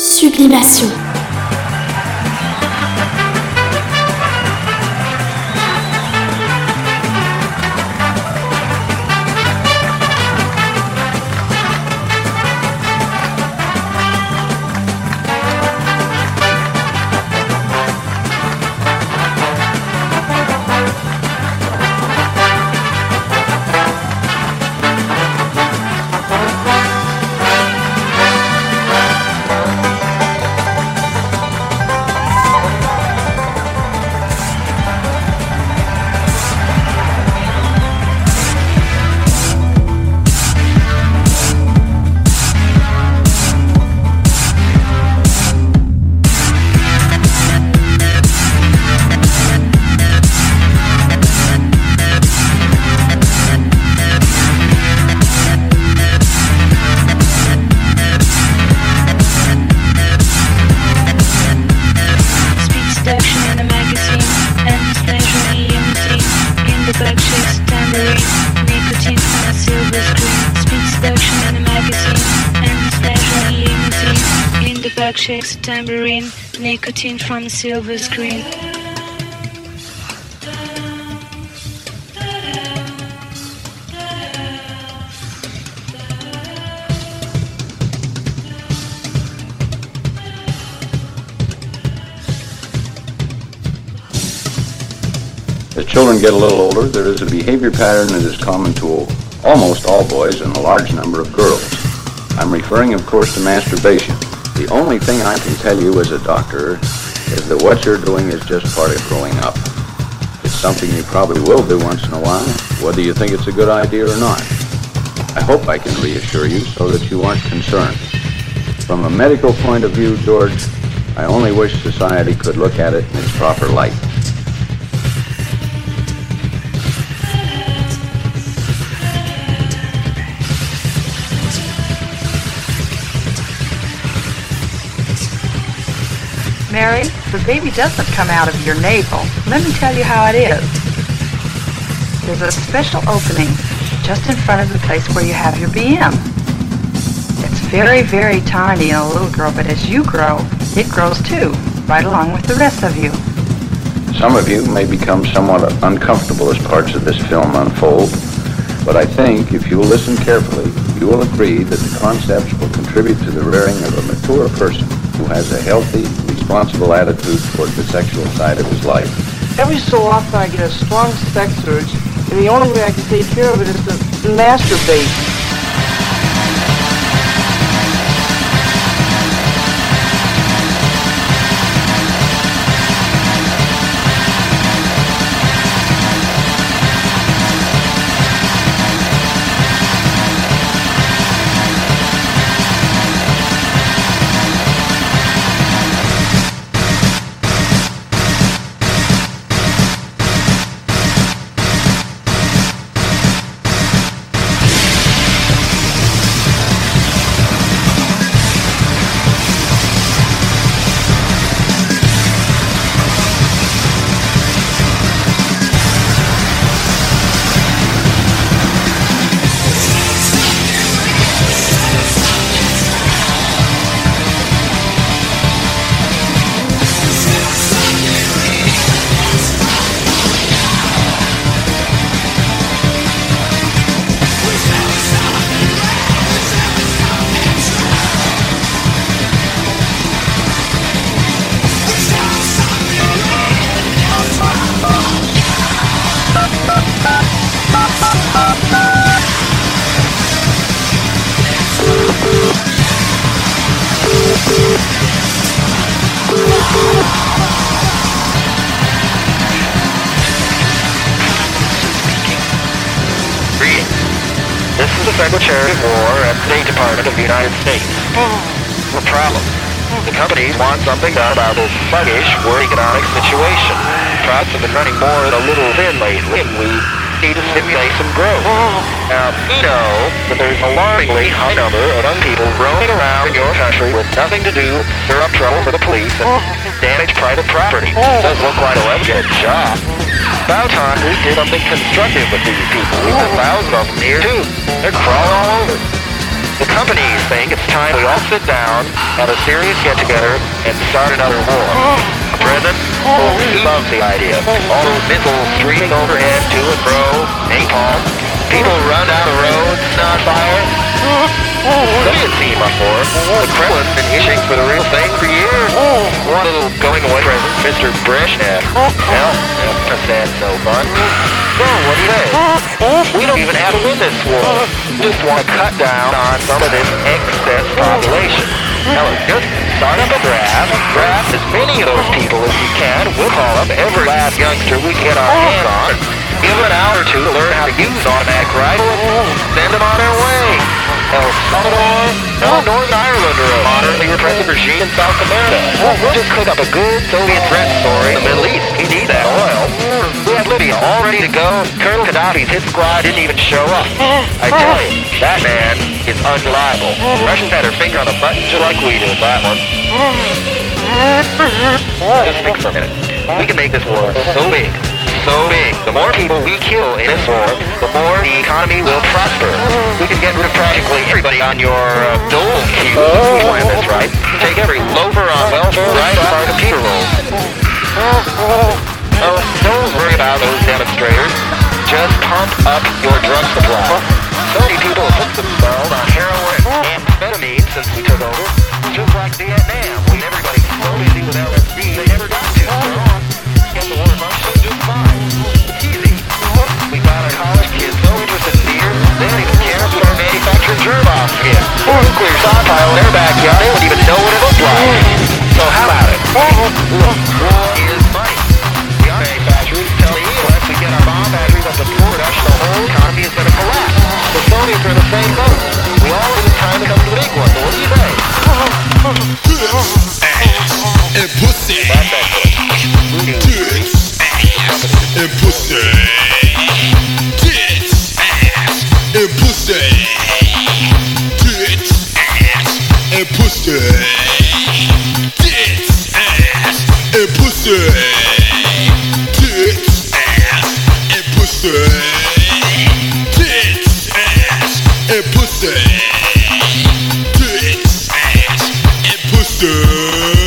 Sublimation. Shakes a tambourine, nicotine from a silver screen. As children get a little older, there is a behavior pattern that is common to almost all boys and a large number of girls. I'm referring, of course, to masturbation. The only thing I can tell you as a doctor is that what you're doing is just part of growing up. It's something you probably will do once in a while, whether you think it's a good idea or not. I hope I can reassure you so that you aren't concerned. From a medical point of view, George, I only wish society could look at it in its proper light. Mary, the baby doesn't come out of your navel. Let me tell you how it is. There's a special opening just in front of the place where you have your BM. It's very, very tiny in a little girl, but as you grow, it grows too, right along with the rest of you. Some of you may become somewhat uncomfortable as parts of this film unfold, but I think if you will listen carefully, you will agree that the concepts will contribute to the rearing of a mature person who has a healthy, responsible attitude toward the sexual side of his life. Every so often I get a strong sex urge, and the only way I can take care of it is to masturbate. Secretary of War at the State Department of the United States. The problem. The companies want something done about this sluggish world economic situation. Crops have been running more than a little thin lately, and we need to stimulate some growth. Now, we know that there's an alarmingly high number of young people roaming around in your country with nothing to do, stir up trouble for the police, and damage private property. Does look like a legitimate job. About time we did something constructive with these people. We've got thousands of them here, too. They're crawling all over. The companies think it's time we all sit down, have a serious get-together, and start another war. The president loves the idea. All those missiles streaming overhead to and fro, napalm, people run down the roads on fire. Soviet team up for it. The Kremlin's been itching for the real thing for years. One little going-away present, Mr. Brezhnev. Hell, that's no fun. So, what do you say? We don't even have to win this war. We just want to cut down on some of this excess population. Hell, just start up a draft. Draft as many of those people as you can. We'll call up every last youngster we can get our hands on. Give them an hour or two to learn how to use automatic rifle and send them on their way. El Salvador, Northern Ireland, or a modernly repressive regime in South America. We'll just cook up a good Soviet threat story in the Middle East. We need that oil. We have Libya all ready to go. Colonel Gaddafi's hit squad didn't even show up. I tell you, that man is unreliable. Russians had their finger on the button just like we do with that one. Just think for a minute. We can make this war so big. So big. The more people we kill in this war, the more the economy will prosper. We can get rid of practically everybody on your dole queue. We plan this right. Take every loafer on welfare right off our computer rolls. Oh, don't worry about those demonstrators. Just pump up your drug supply. So many people have hooked themselves on heroin and amphetamine since we took over. Just like Vietnam, when everybody was so busy with LSD, they never got to. Get the war functioning just fine. It's easy. We got our college kids so interested in beer, they don't even care if we start manufacturing germ-off again. Or nuclear stockpile in their backyard, they wouldn't even know what it looked like. So how about it? War is money. The our manufacturers tell me once we get our bomb batteries up to production, the whole economy is going to collapse. The Soviets are in the same boat. We all think it's time to come to the big one. So what do you say? And pussy. That's excellent. Tits, ass, and pussy. Tits, ass, and pussy. Tits, ass, and pussy. Tits, ass, and pussy. Tits, ass, and pussy. Tits, ass, and pussy. Tits, ass, and pussy.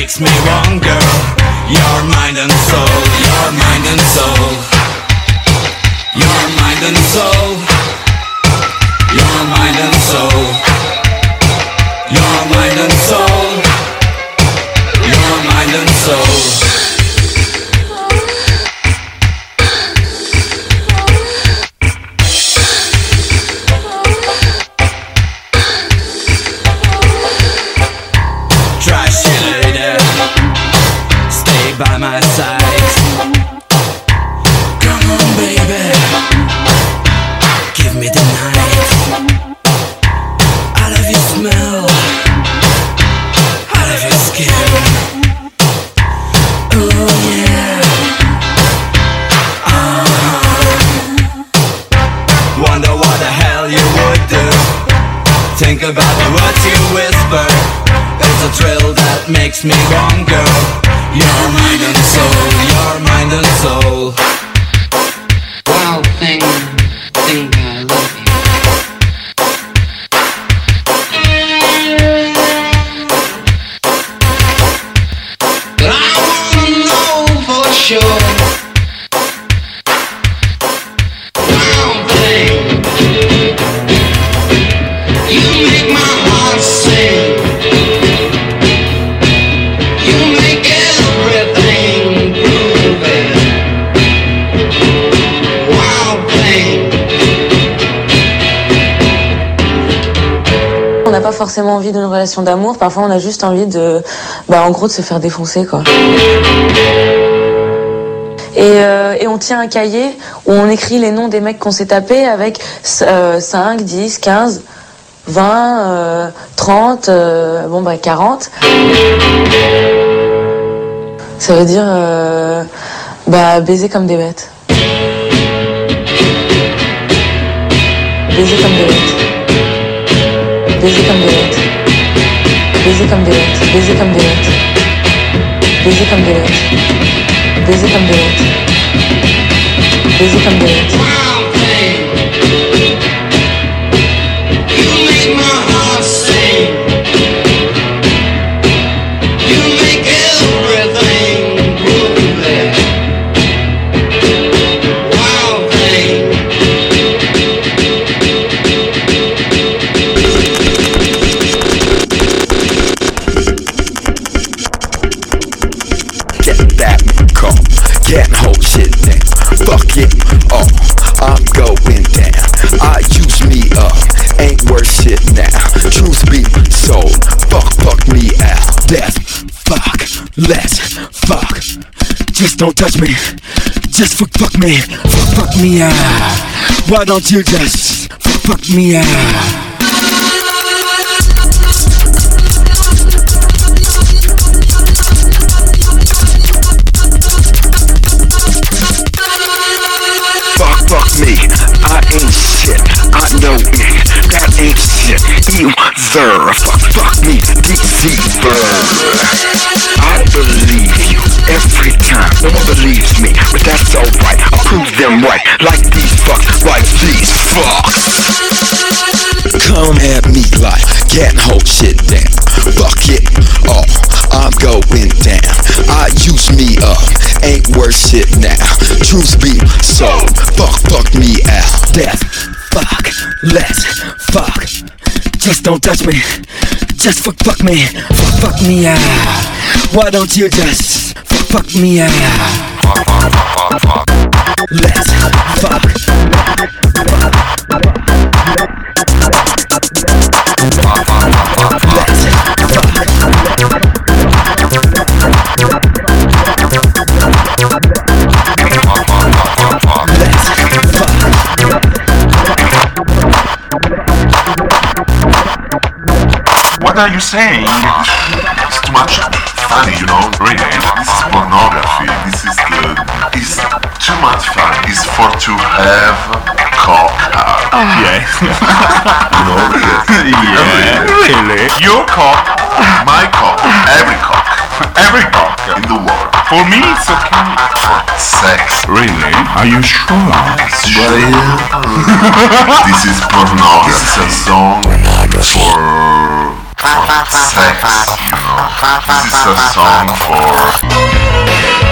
makes me wrong, girl. Your mind and soul, your mind and soul, your mind and soul, your mind and soul, your mind and soul, your mind and soul. By my side, come on baby, give me the night. I love your smell, I love your skin. Oh yeah. Wonder what the hell you would do. Think about the words you whisper. It's a thrill that makes me wrong, girl. Your mind and soul, your mind and soul. Wow, think I love you. But I wanna know for sure. Wow, thing, you make my heart sing. You make everything groovy. Wow, thing. On n'a pas forcément envie d'une relation d'amour, parfois on a juste envie de, en gros, de se faire défoncer, quoi. Et on tient un cahier où on écrit les noms des mecs qu'on s'est tapés avec 5, 10, 15, 20, 30, 40. Ça veut dire baiser comme des bêtes. Baiser comme des bêtes. Baiser comme des bêtes. Baiser comme des bêtes. Baiser comme des bêtes. Baiser comme des bêtes. Baiser comme des bêtes. Baiser comme des bêtes. Can't hold shit down. Fuck it all. I'm going down. I use me up. Ain't worth shit now. Truth be told. Fuck me out. Death. Fuck. Let's fuck. Just don't touch me. Just fuck me. Fuck me out. Why don't you just fuck me out? Fuck me, I ain't shit, I know it, that ain't shit, either. Fuck me, deceiver. I believe you every time, no one believes me, but that's alright, I'll prove them right, like these fucks, like these fucks. Come at me like, can't hold shit down, fuck it all, I'm going down, I use me up, ain't worth shit now, truth be told, fuck me out, death, fuck, let's fuck, just don't touch me, just fuck me, fuck me out, why don't you just fuck me out, let's fuck, What are you saying? It's too much funny, you know? Really, this is pornography. It's too much fun. It's for to have cock. Yeah. You know? Yeah. Really? Your cock, my cock, every cock in the world. For me, it's okay. For sex. Really? Are you sure? This is pornography. This is a song for sex, you know. This is a song for...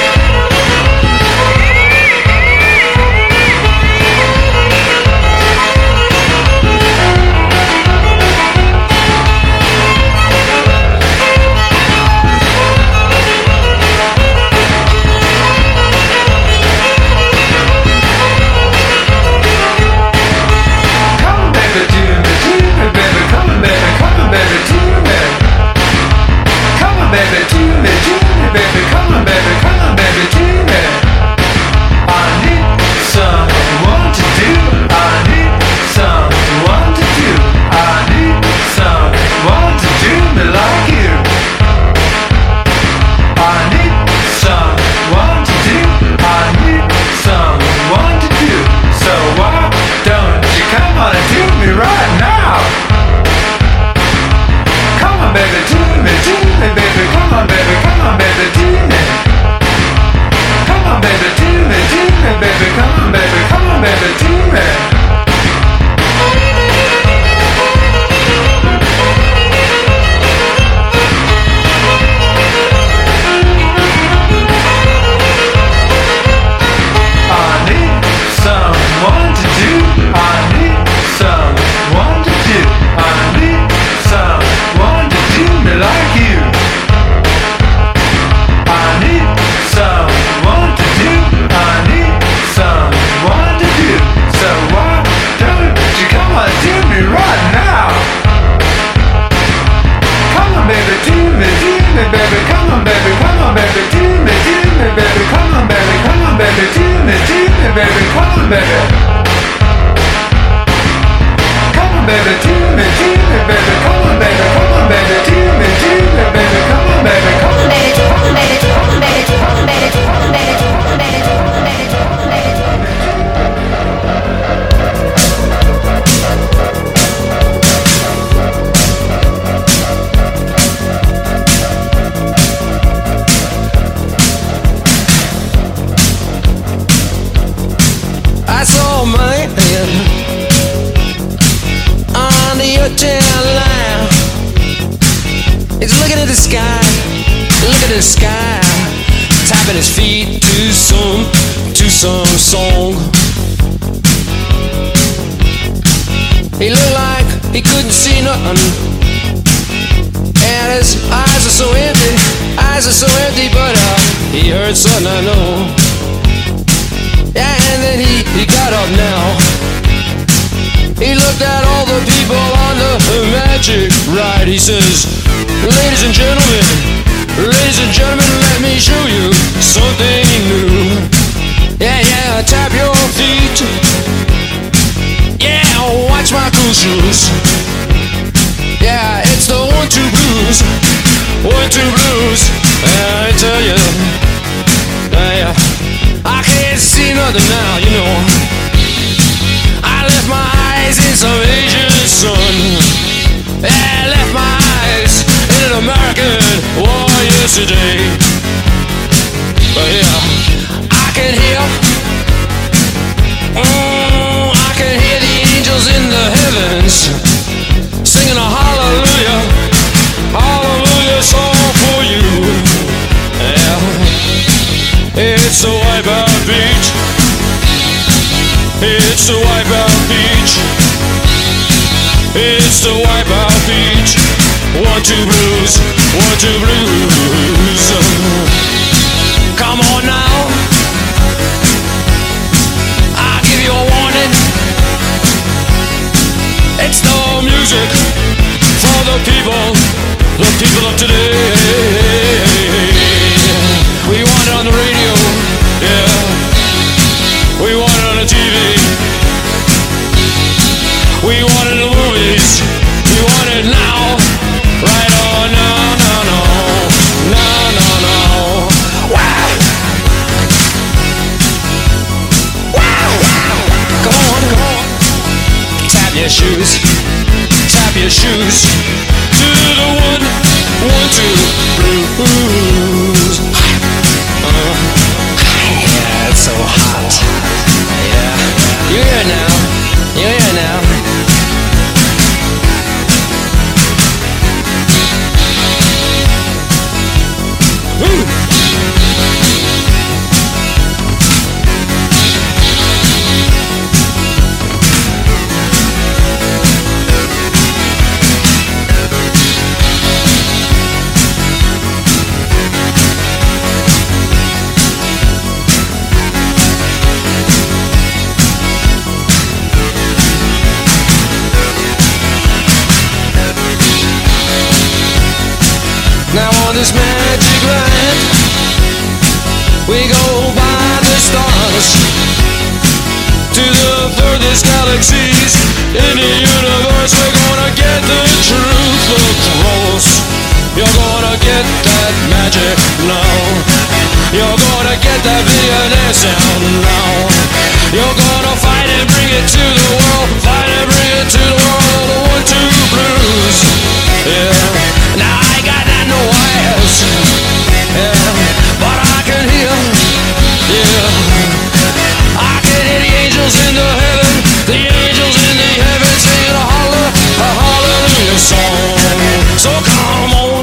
Song. He looked like he couldn't see nothing, and his eyes are so empty, but he heard something I know. Yeah, and then he got up now. He looked at all the people on the magic ride. He says, ladies and gentlemen, let me show you something new. Yeah, tap your feet. Yeah, watch my cool shoes. Yeah, it's the 1-2 blues. 1-2 blues. I tell you, I can't see nothing now, you know. I left my eyes in some Asian sun. Yeah, I left my eyes in an American war yesterday. But yeah, I can hear the angels in the heavens singing a hallelujah, hallelujah song for you. Yeah, it's the Wipeout Beach. It's the Wipeout Beach. It's the Wipeout Beach. 1-2 blues, 1-2 blues. Come on now, I'll give you a warning. It's the music for the people of today. We want it on the radio, yeah. We want it on the TV. We want it in the movies. We want it now, right on, no. Wow. Come on. Tap your shoes to the 1-1-2 blues. Yeah, it's so hot. Yeah, you're here now. this magic light. We go by the stars to the furthest galaxies in the universe. We're gonna get the truth across. You're gonna get that magic now. You're gonna get that violin sound now. You're gonna fight and bring it to the world. Fight and bring it to the world. The 1-2 blues. Yeah. Now I got that no eyes. Yeah. But I can hear. Yeah. I can hear the angels in the heaven. The angels in the heaven singing a hallelujah song. So come on.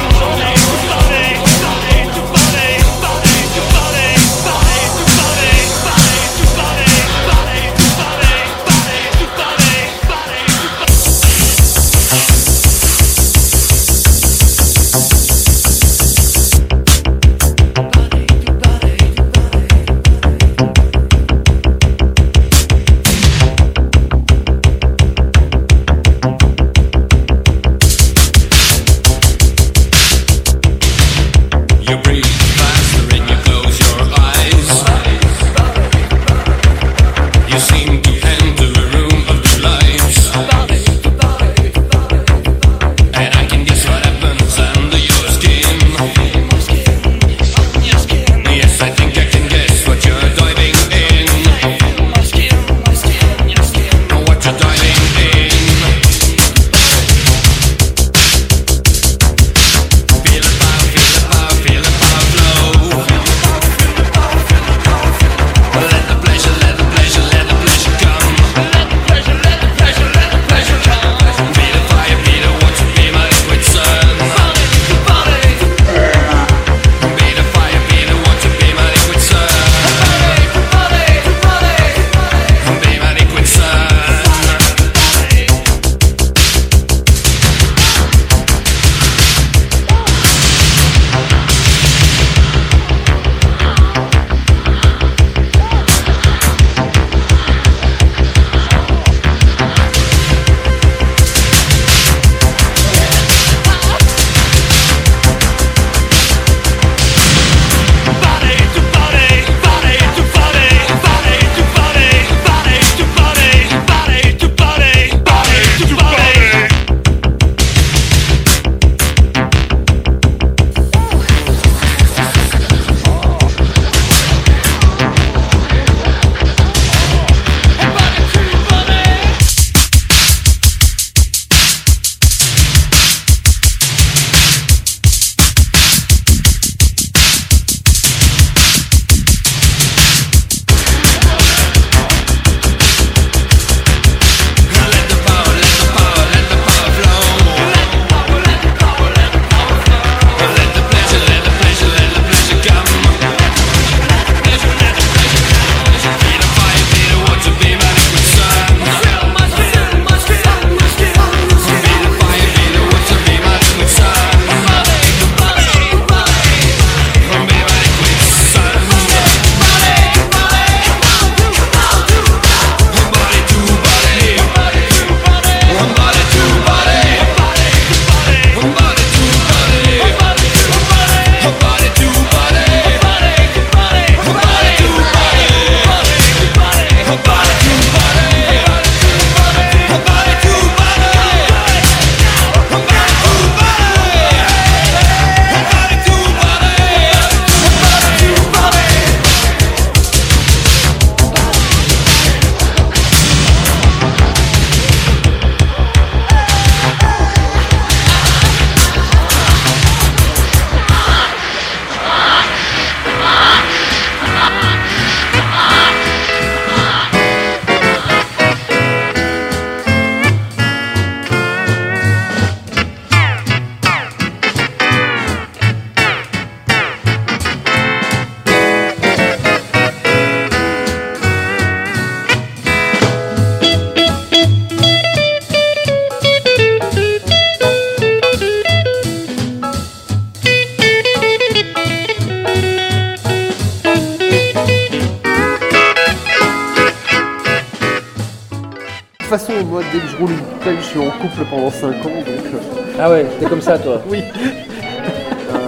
toute façon, moi, dès que je roule une bouteille, je suis en couple pendant 5 ans, donc... Ah ouais, t'es comme ça, toi. Oui.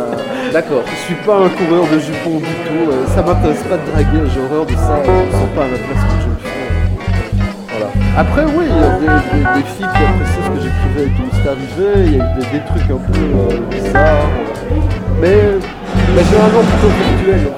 D'accord. Je suis pas un coureur de jupons du tout. Ça m'intéresse pas de draguer. J'ai horreur de ça. Je me sens pas à ma place quand je le fais. Voilà. Après, oui, il y a des filles qui apprécient ce que j'écrivais et qui m'est arrivé. Il y a eu des trucs un peu bizarres. Mais généralement plutôt virtuels.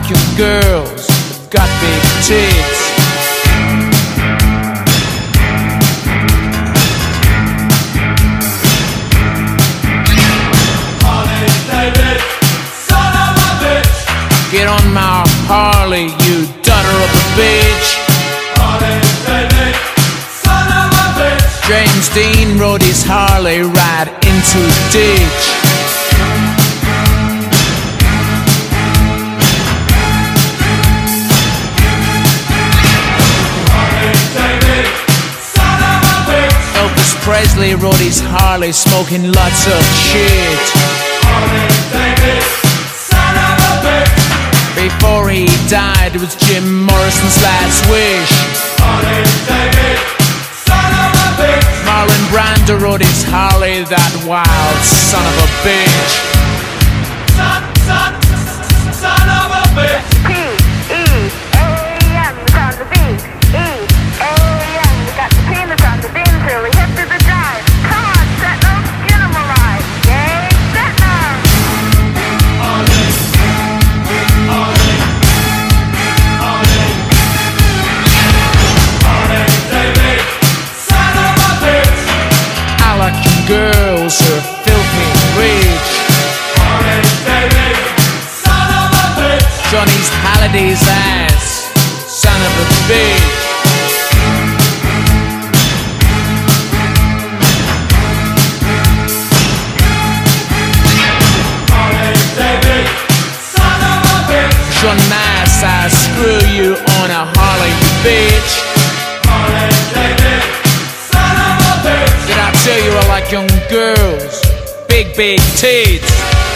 like young girls who've got big tits. Get on my Harley, you daughter of a bitch. Harley David, son of a bitch. James Dean rode his Harley right into the ditch. Harley David, son of a bitch. Elvis Presley rode his Harley smoking lots of shit. Harley David, son of a bitch. Before he died, it was Jim Morrison's last wish. Harley David, son of a bitch. Marlon Brando rode his Harley, that wild son of a bitch. Son of a bitch. P-E-A-M, the sound of the beat. E-A-M, we got the P in the sound, the beam through, we hip to the jive. Come on, Setner, get him alive. Yay, Setner. Girls are filthy rich. David, son of a bitch. Johnny's Halliday's ass, son of a bitch. David, son of a bitch. John Mass, I screw you on a Harley, you bitch. David, son of a bitch. Did I tell you I like young girls? Big, big tits.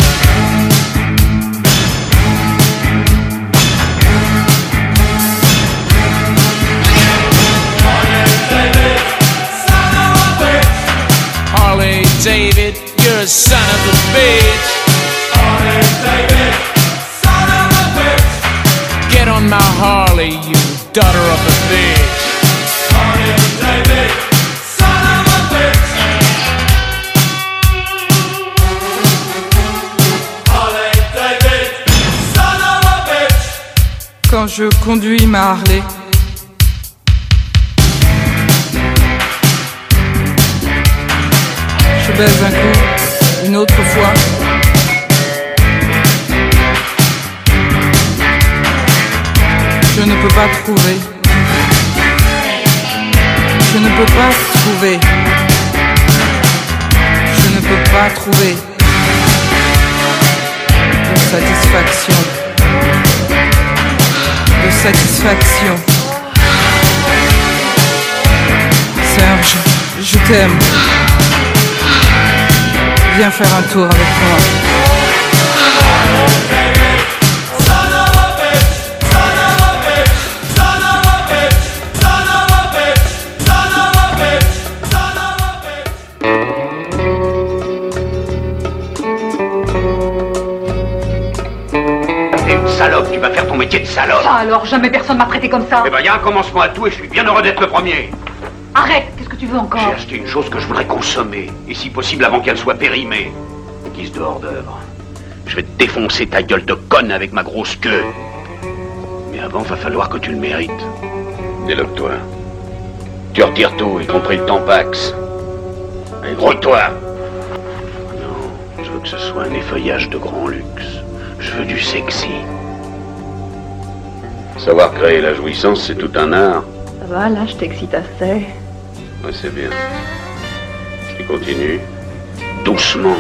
Harley David, you're a son of a bitch. Harley David, son of a bitch. Get on my Harley, you daughter of a bitch. Harley David, son of a bitch. Harley David, son of a bitch. Quand je conduis ma Harley, je baise un coup, une autre fois. Je ne peux pas trouver. Je ne peux pas trouver. Je ne peux pas trouver de satisfaction. De satisfaction. Serge, je t'aime. Viens faire un tour avec moi. T'es une salope, tu vas faire ton métier de salope. Ça alors, jamais personne m'a traité comme ça. Eh ben, y a un commencement à tout et je suis bien heureux d'être le premier. Arrête, qu'est-ce que tu veux encore? J'ai acheté une chose que je voudrais consommer, et si possible avant qu'elle soit périmée. Guise de hors d'œuvre. Je vais te défoncer ta gueule de conne avec ma grosse queue. Mais avant, va falloir que tu le mérites. Déloque-toi. Tu retires tout, y compris le Tampax. Et gros-toi. Non, je veux que ce soit un effeuillage de grand luxe. Je veux du sexy. Savoir créer la jouissance, c'est tout un art. Ça va, là, je t'excite assez. Ouais, c'est bien. Et continue. Doucement.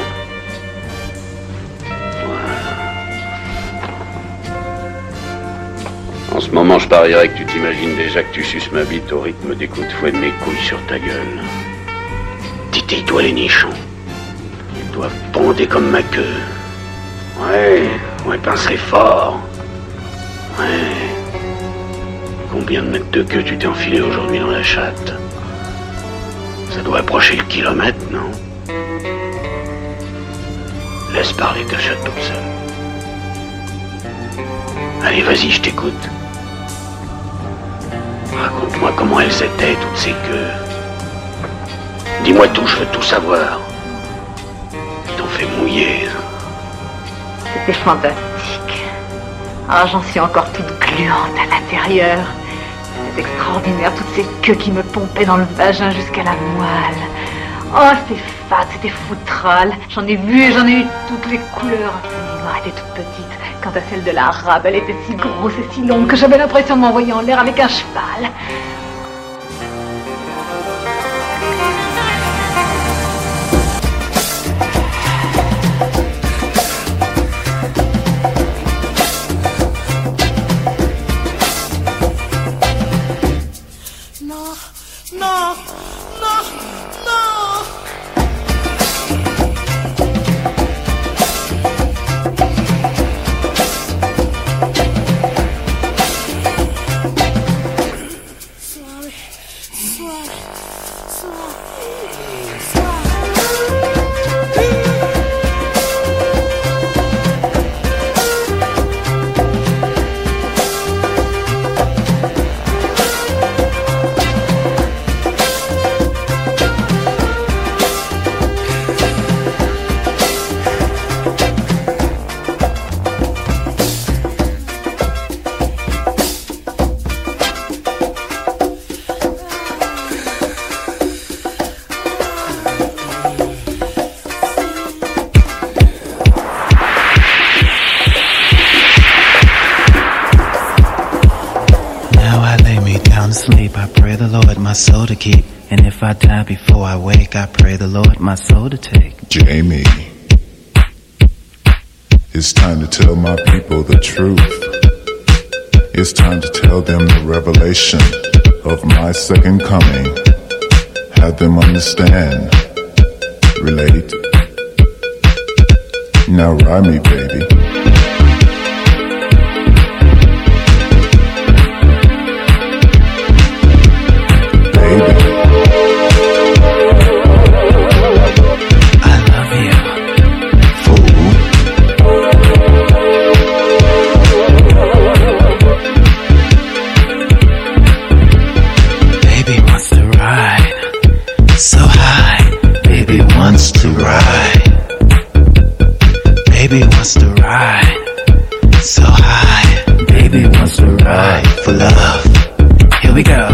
En ce moment, je parierais que tu t'imagines déjà que tu suces ma bite au rythme des coups de fouet de mes couilles sur ta gueule. Titille-toi les nichons. Ils doivent ponder comme ma queue. Ouais, pincerai fort. Ouais. Combien de mètres de queue tu t'es enfilé aujourd'hui dans la chatte? Ça doit approcher le kilomètre, non? Laisse parler ta chatte toute seule. Allez, vas-y, je t'écoute. Raconte-moi comment elles étaient, toutes ces queues. Dis-moi tout, je veux tout savoir. Ils t'ont fait mouiller. C'était fantastique. Ah, j'en suis encore toute gluante à l'intérieur. C'est extraordinaire, toutes ces queues qui me pompaient dans le vagin jusqu'à la moelle. Oh, c'était fade, c'était foutral. J'en ai vu et j'en ai eu toutes les couleurs. Sa noire était toute petite. Quant à celle de l'arabe, elle était si grosse et si longue que j'avais l'impression de m'envoyer en l'air avec un cheval. My soul to keep, and if I die before I wake, I pray the Lord my soul to take. Jamie, it's time to tell my people the truth. It's time to tell them the revelation of my second coming. Have them understand, relate. Now ride me, baby. Baby wants to ride so high. Baby wants to ride for love. Here we go.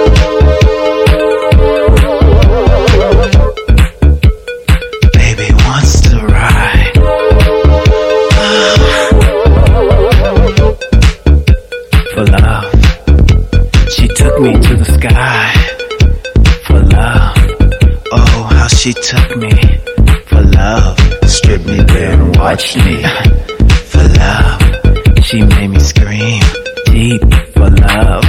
Baby wants to ride for love. She took me to the sky for love. Oh, how she took me for love. Stripped me bare and watched me for love. She made me scream deep for love.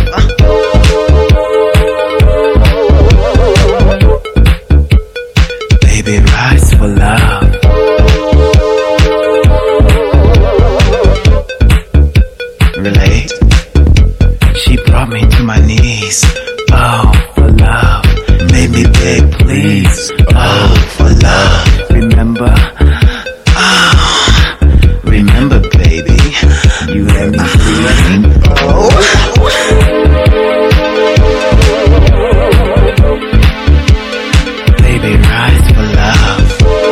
Baby rides for love. Relate. She brought me to my knees. Oh, for love. Made me beg, please. Oh, for love. Remember? Remember, baby, you let me scream. Oh. Baby, rise for love.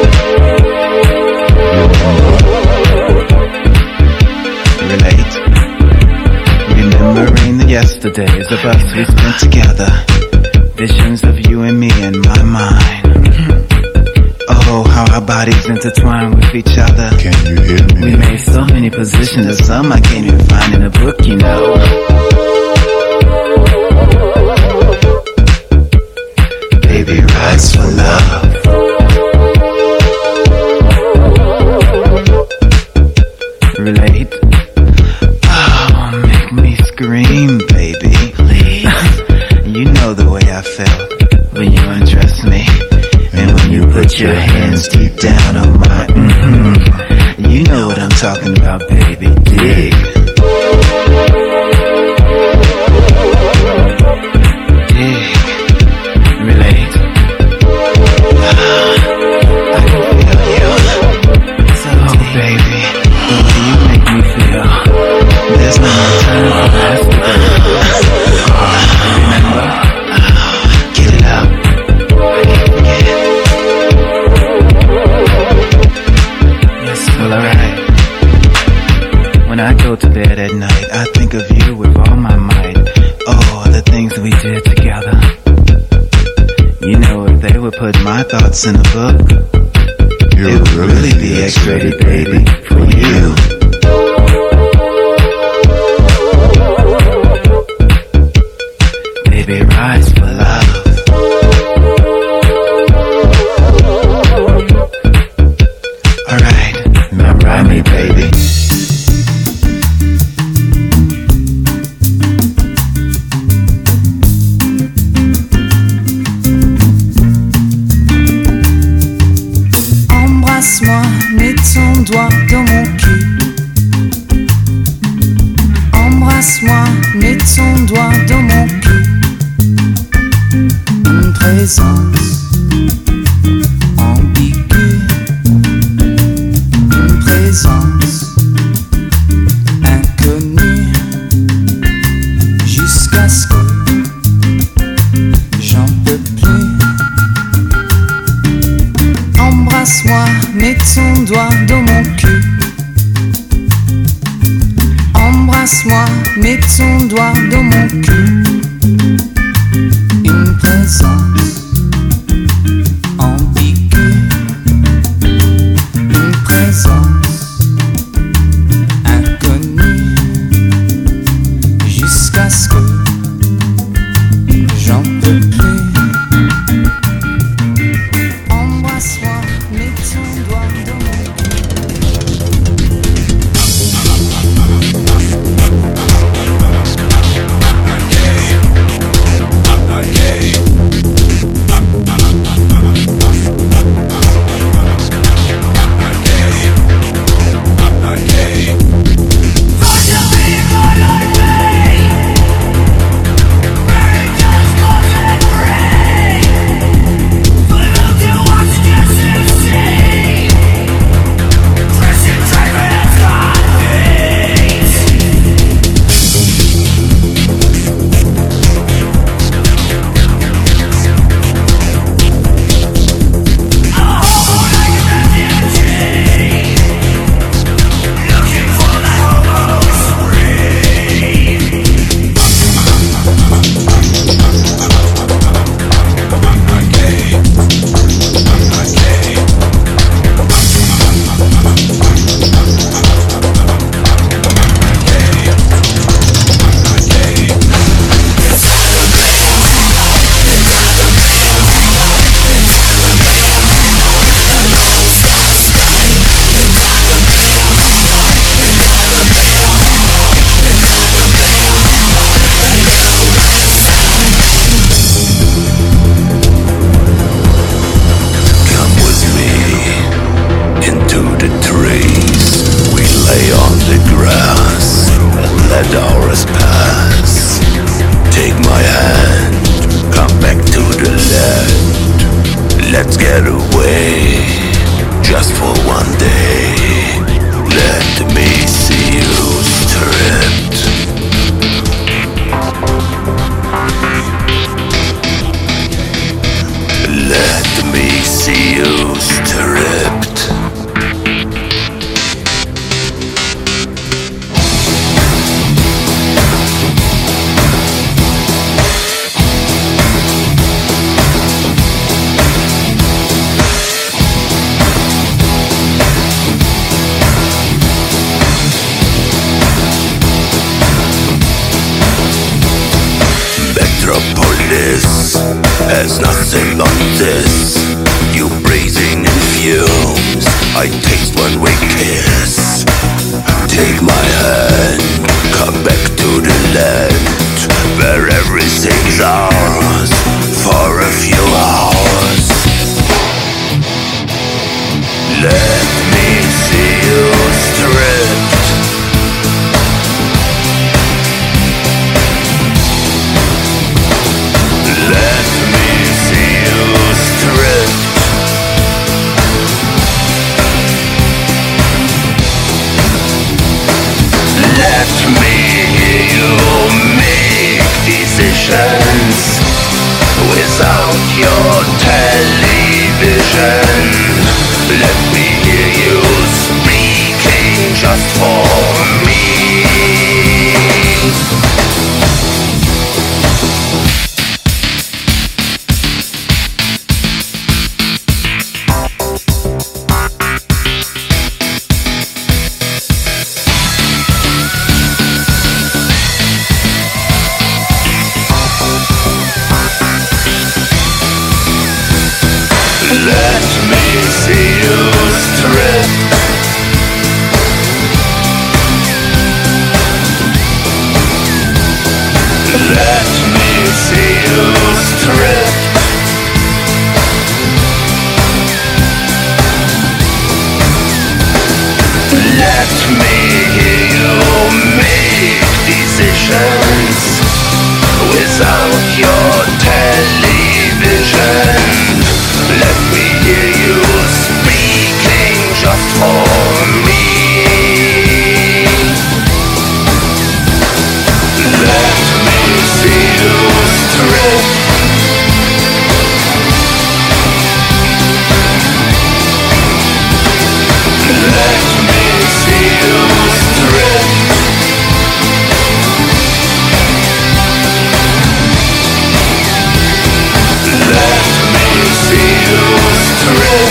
Relate. Remembering the yesterdays of us we spent together. Visions of you and me in my mind. Oh, how our bodies intertwine with each other. Can you hear me? We made so many positions that some I can't even find in a book, you know. Baby rides for love. Relate. Oh, make me scream, baby. Please. You know the way I felt when you undressed me. And when you put your hands deep down on my you know what I'm talking about, baby. Dig. Dig. Relate. I can feel you. So baby, the way you make me feel. There's no more time for us to go. Remember? Get it up. I can't forget. Yes, well, alright. When I go to bed once in a book, it would really be X-rated, baby, for you. Baby, rise for love. Alright, now ride me, baby. Embrasse-moi, mets ton doigt dans mon cul. Embrasse-moi, mets ton doigt dans mon cul. Une présence ambiguë, une présence inconnue, jusqu'à ce que j'en peux plus. Embrasse-moi, mets ton doigt dans mon cul. Embrasse-moi, mets ton doigt dans mon cul. Une présence ambiguë, une présence inconnue, jusqu'à ce que j'en peux plus. Embrasse-moi, mets ton doigt dans mon There's nothing but this. You breathing in fumes. I taste when we kiss. Take my hand, come back to the land where everything's ours for a few hours. Let me see you stripped. Let me see you stripped. Let me hear you make decisions without your television. Let me hear you speaking just for me. strip. Let me see you strip. Let me hear you make decisions without your television. Let me hear you speaking just for me. Let me see you strip. Let me see you strip. Let me see you strip.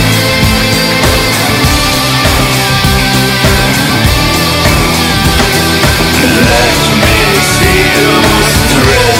Let me see you strip.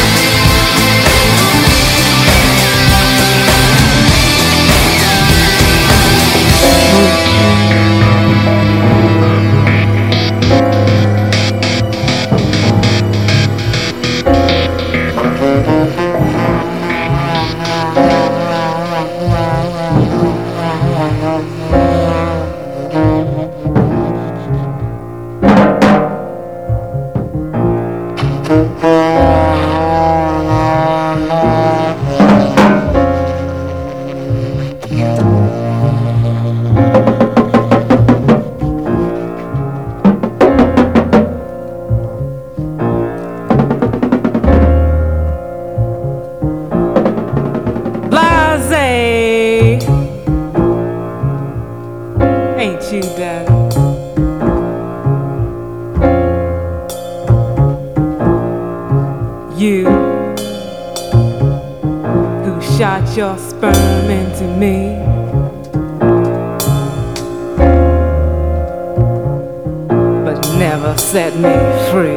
Blase, ain't you, Daddy? You who shot your sperm into me, but never set me free.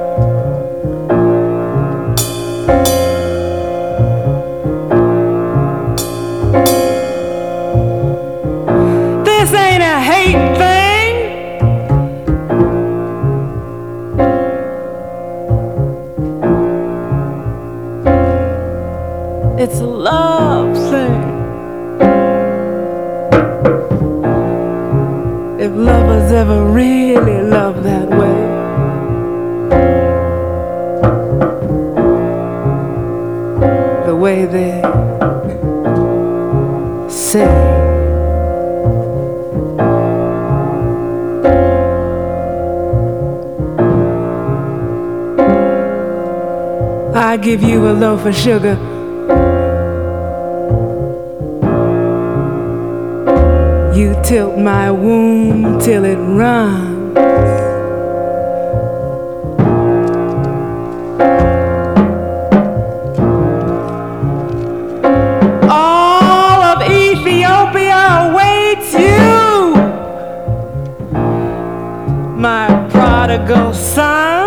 This ain't a hate thing. It's a love thing. If lovers ever really love that way, the way they say. I give you a loaf of sugar. You tilt my womb till it runs. All of Ethiopia awaits you, my prodigal son.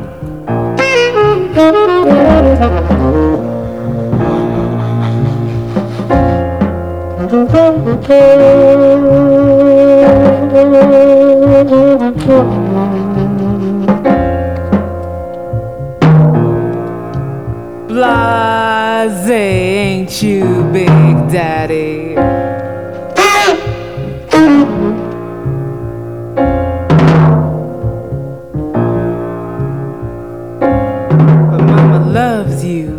Blase, ain't you, Big Daddy? But Mama loves you.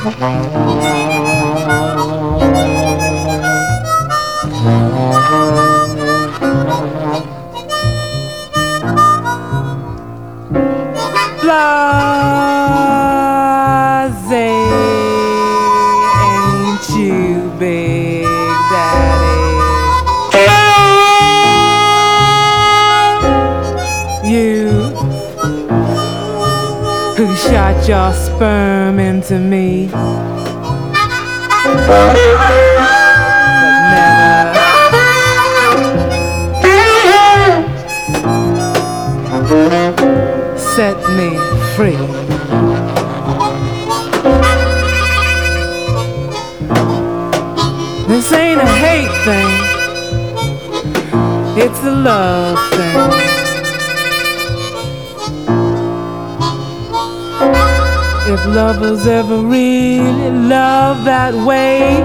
Ain't you, Big Daddy? You who shot your sperm into me, but never set me free. This ain't a hate thing, it's a love thing. If lovers ever really love that way,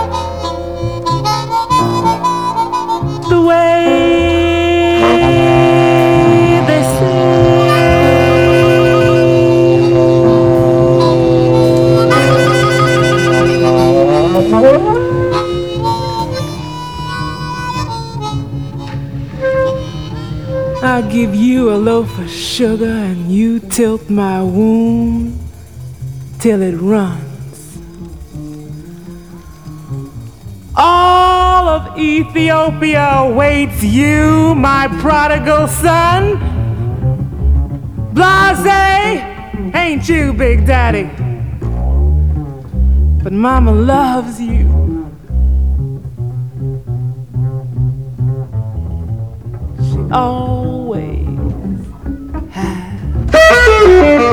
the way they I give you a loaf of sugar and you tilt my womb till it runs. All of Ethiopia waits you, my prodigal son. Blase, ain't you, Big Daddy? But Mama loves you. She always has.